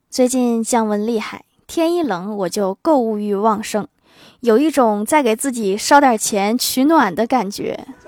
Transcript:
最近降温厉害，天一冷我就购物欲旺盛，有一种在给自己烧点钱取暖的感觉。